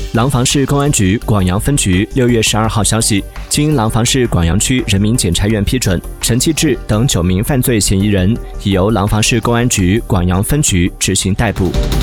廊坊市公安局广阳分局6月12号消息，经廊坊市广阳区人民检察院批准，陈继志等9名犯罪嫌疑人已由廊坊市公安局广阳分局执行逮捕。